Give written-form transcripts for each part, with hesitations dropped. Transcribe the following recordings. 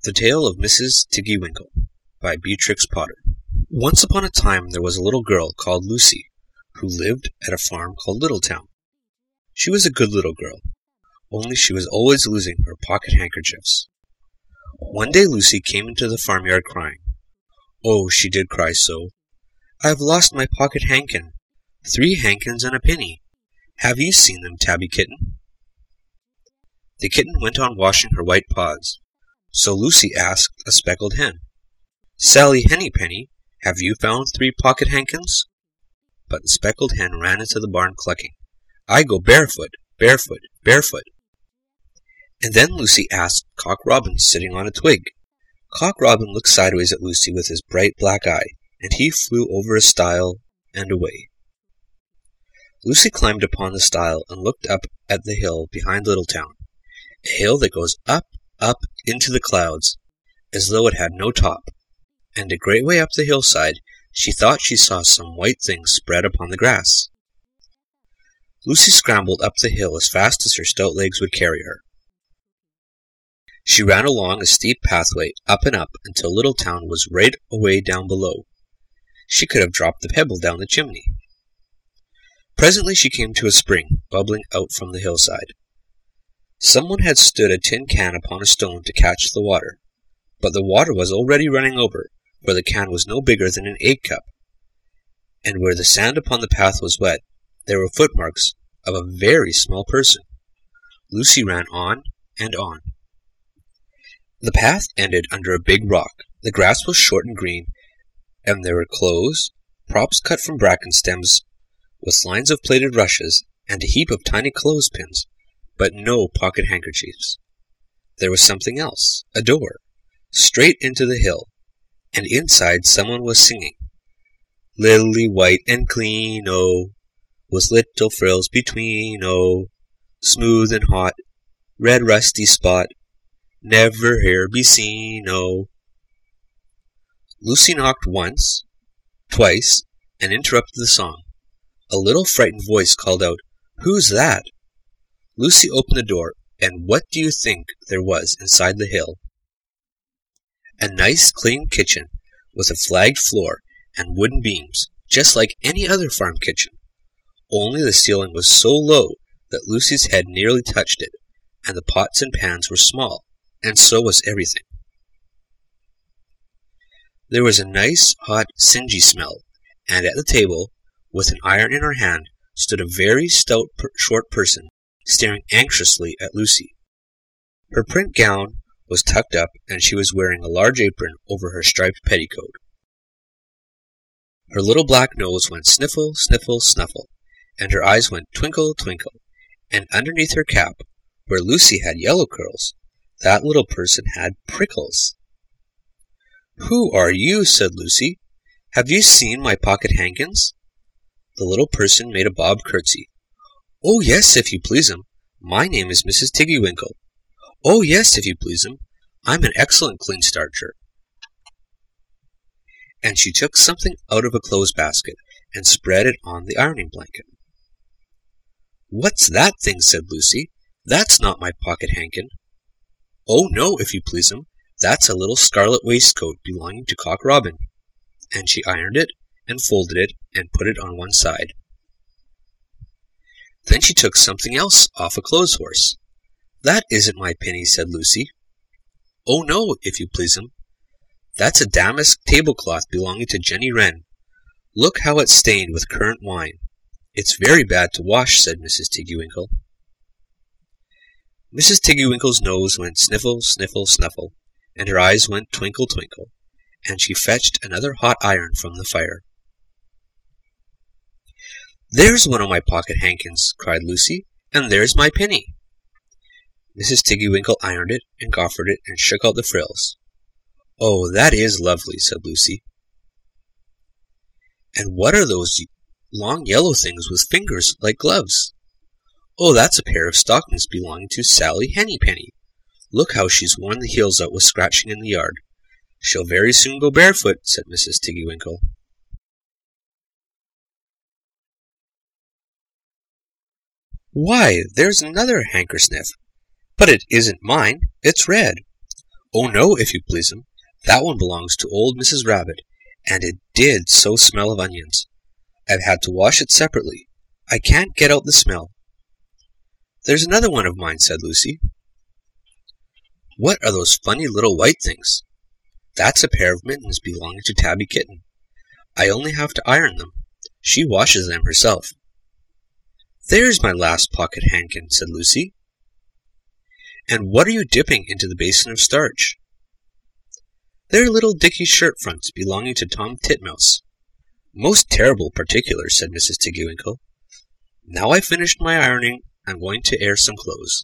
The Tale of Mrs. Tiggy Winkle by Beatrix Potter. Once upon a time there was a little girl called Lucy, who lived at a farm called Littletown. She was a good little girl, only she was always losing her pocket handkerchiefs. One day Lucy came into the farmyard crying. Oh, she did cry so. I have lost my pocket hankin. 3 hankins and a penny. Have you seen them, Tabby Kitten? The kitten went on washing her white paws. So Lucy asked a speckled hen, Sally Hennypenny, have you found 3 pocket hankins? But the speckled hen ran into the barn clucking, I go barefoot, barefoot, barefoot. And then Lucy asked Cock Robin sitting on a twig. Cock Robin looked sideways at Lucy with his bright black eye, and he flew over a stile and away. Lucy climbed upon the stile and looked up at the hill behind Littletown, a hill that goes up into the clouds, as though it had no top, and a great way up the hillside she thought she saw some white things spread upon the grass. Lucy scrambled up the hill as fast as her stout legs would carry her. She ran along a steep pathway up and up until Littletown was right away down below. She could have dropped the pebble down the chimney. Presently she came to a spring bubbling out from the hillside. Someone had stood a tin can upon a stone to catch the water, but the water was already running over, for the can was no bigger than an egg cup, and where the sand upon the path was wet, there were footmarks of a very small person. Lucy ran on and on. The path ended under a big rock. The grass was short and green, and there were clothes, props cut from bracken stems, with lines of plaited rushes, and a heap of tiny clothespins, but no pocket handkerchiefs. There was something else, a door, straight into the hill, and inside someone was singing, Lily white and clean, oh, with little frills between, oh, smooth and hot, red rusty spot, never here be seen, oh. Lucy knocked once, twice, and interrupted the song. A little frightened voice called out, Who's that? Lucy opened the door, and what do you think there was inside the hill? A nice clean kitchen, with a flagged floor and wooden beams, just like any other farm kitchen. Only the ceiling was so low that Lucy's head nearly touched it, and the pots and pans were small, and so was everything. There was a nice, hot, singy smell, and at the table, with an iron in her hand, stood a very stout, short person, staring anxiously at Lucy. Her print gown was tucked up, and she was wearing a large apron over her striped petticoat. Her little black nose went sniffle, sniffle, snuffle, and her eyes went twinkle, twinkle, and underneath her cap, where Lucy had yellow curls, that little person had prickles. Who are you? Said Lucy. Have you seen my pocket hankins? The little person made a bob curtsy. Oh, yes, if you please'm. My name is Mrs. Tiggy Winkle. Oh, yes, if you please'm. I'm an excellent clean starcher. And she took something out of a clothes basket and spread it on the ironing blanket. What's that thing? Said Lucy. That's not my pocket hankin. Oh, no, if you please'm. That's a little scarlet waistcoat belonging to Cock Robin. And she ironed it and folded it and put it on one side. Then she took something else off a clothes horse. That isn't my penny, said Lucy. Oh, no, if you please'm. That's a damask tablecloth belonging to Jenny Wren. Look how it's stained with currant wine. It's very bad to wash, said Mrs. Tiggy Winkle. Mrs. Tiggy Winkle's nose went sniffle, sniffle, snuffle, and her eyes went twinkle, twinkle, and she fetched another hot iron from the fire. There's one of my pocket hankins, cried Lucy, and there's my penny. Mrs. Tiggy Winkle ironed it and goffered it and shook out the frills. Oh, that is lovely, said Lucy. And what are those long yellow things with fingers like gloves? Oh, that's a pair of stockings belonging to Sally Hennypenny. Look how she's worn the heels out with scratching in the yard. She'll very soon go barefoot, said Mrs. Tiggy Winkle. Why, there's another hankersniff, but it isn't mine, it's red. Oh no, if you please'm, that one belongs to old Mrs. Rabbit, and it did so smell of onions. I've had to wash it separately. I can't get out the smell. There's another one of mine, said Lucy. What are those funny little white things? That's a pair of mittens belonging to Tabby Kitten. I only have to iron them. She washes them herself. There's my last pocket handkin, said Lucy. And what are you dipping into the basin of starch? They're little Dickie's shirt fronts belonging to Tom Titmouse. Most terrible particulars, said Mrs. Tiggywinkle. Now I've finished my ironing, I'm going to air some clothes.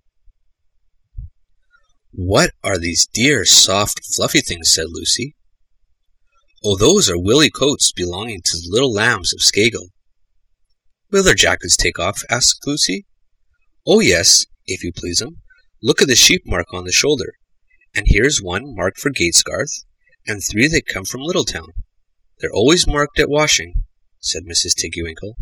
What are these dear, soft, fluffy things, said Lucy. Oh, those are willy coats belonging to the little lambs of Skagel. Will their jackets take off? asked Lucy. Oh, yes, if you please'm. Look at the sheep mark on the shoulder, and here's one marked for Gatesgarth, and 3 that come from Littletown. They're always marked at washing, said Mrs. Tiggywinkle.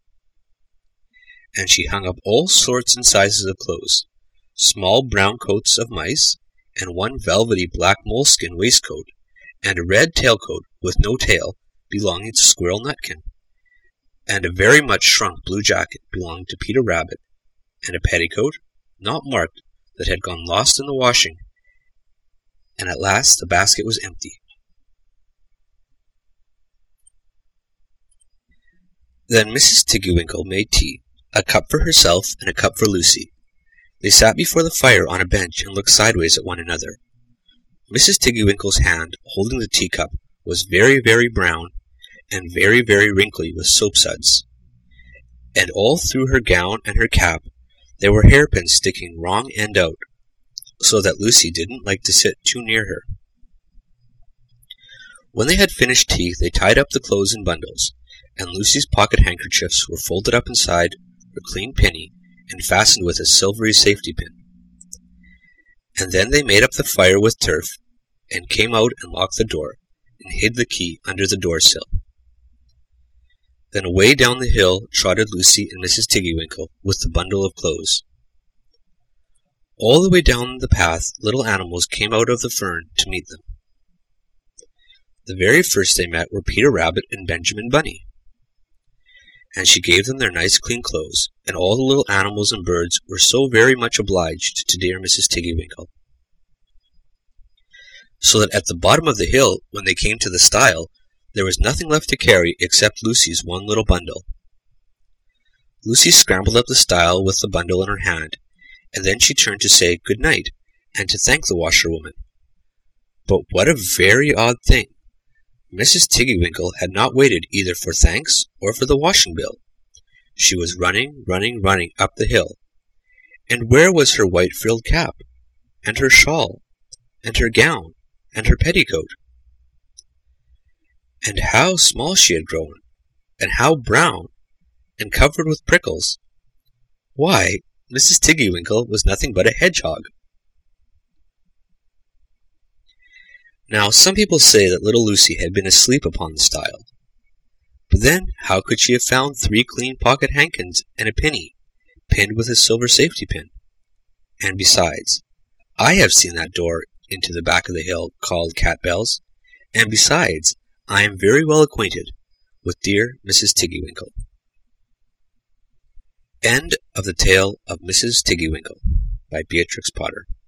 And she hung up all sorts and sizes of clothes, small brown coats of mice, and one velvety black moleskin waistcoat, and a red tailcoat with no tail belonging to Squirrel Nutkin, and a very much shrunk blue jacket belonging to Peter Rabbit, and a petticoat, not marked, that had gone lost in the washing, and at last the basket was empty. Then Mrs. Tiggywinkle made tea, a cup for herself and a cup for Lucy. They sat before the fire on a bench and looked sideways at one another. Mrs. Tiggywinkle's hand, holding the teacup, was very, very brown, and very, very wrinkly with soapsuds. And all through her gown and her cap there were hairpins sticking wrong end out, so that Lucy didn't like to sit too near her. When they had finished tea, they tied up the clothes in bundles, and Lucy's pocket handkerchiefs were folded up inside her clean pinny and fastened with a silvery safety pin. And then they made up the fire with turf, and came out and locked the door, and hid the key under the door-sill. Then away down the hill trotted Lucy and Mrs. Tiggywinkle with the bundle of clothes. All the way down the path little animals came out of the fern to meet them. The very first they met were Peter Rabbit and Benjamin Bunny. And she gave them their nice clean clothes, and all the little animals and birds were so very much obliged to dear Mrs. Tiggywinkle. So that at the bottom of the hill, when they came to the stile, there was nothing left to carry except Lucy's one little bundle. Lucy scrambled up the stile with the bundle in her hand, and then she turned to say good night, and to thank the washerwoman. But what a very odd thing! Mrs. Tiggywinkle had not waited either for thanks or for the washing bill. She was running, running, running up the hill. And where was her white frilled cap, and her shawl, and her gown, and her petticoat? And how small she had grown, and how brown, and covered with prickles! Why, Mrs. Tiggywinkle was nothing but a hedgehog. Now, some people say that little Lucy had been asleep upon the stile. But then, how could she have found 3 clean pocket handkins and a penny, pinned with a silver safety pin? And besides, I have seen that door into the back of the hill called Cat Bells, and besides, I am very well acquainted with dear Mrs. Tiggywinkle. End of the tale of Mrs. Tiggywinkle by Beatrix Potter.